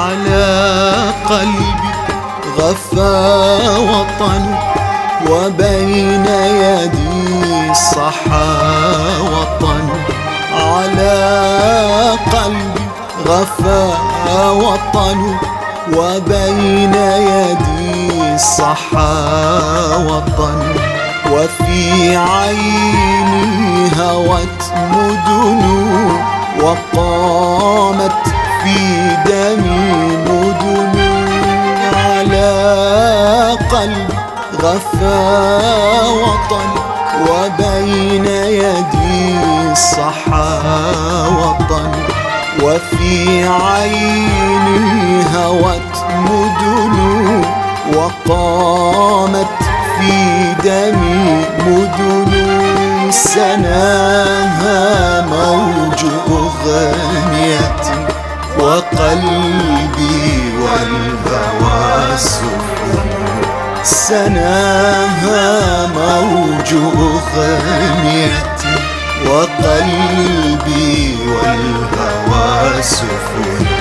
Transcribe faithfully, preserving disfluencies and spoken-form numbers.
على قلبي غفى وطن، وبين يدي صحى وطن. على قلبي غفى وطن، وبين يدي صحى وطن. وفي عيني هوت مدن، وقامت في دمي مدن. على قلبي غفى وطن، وبين يدي صحى وطن. وفي عيني هوت مدن، وقامت في دمي مدن. سناها موج أغنية، وقلبي والهوى سفن. سناها موج أغنية، وقلبي والهوى سفن.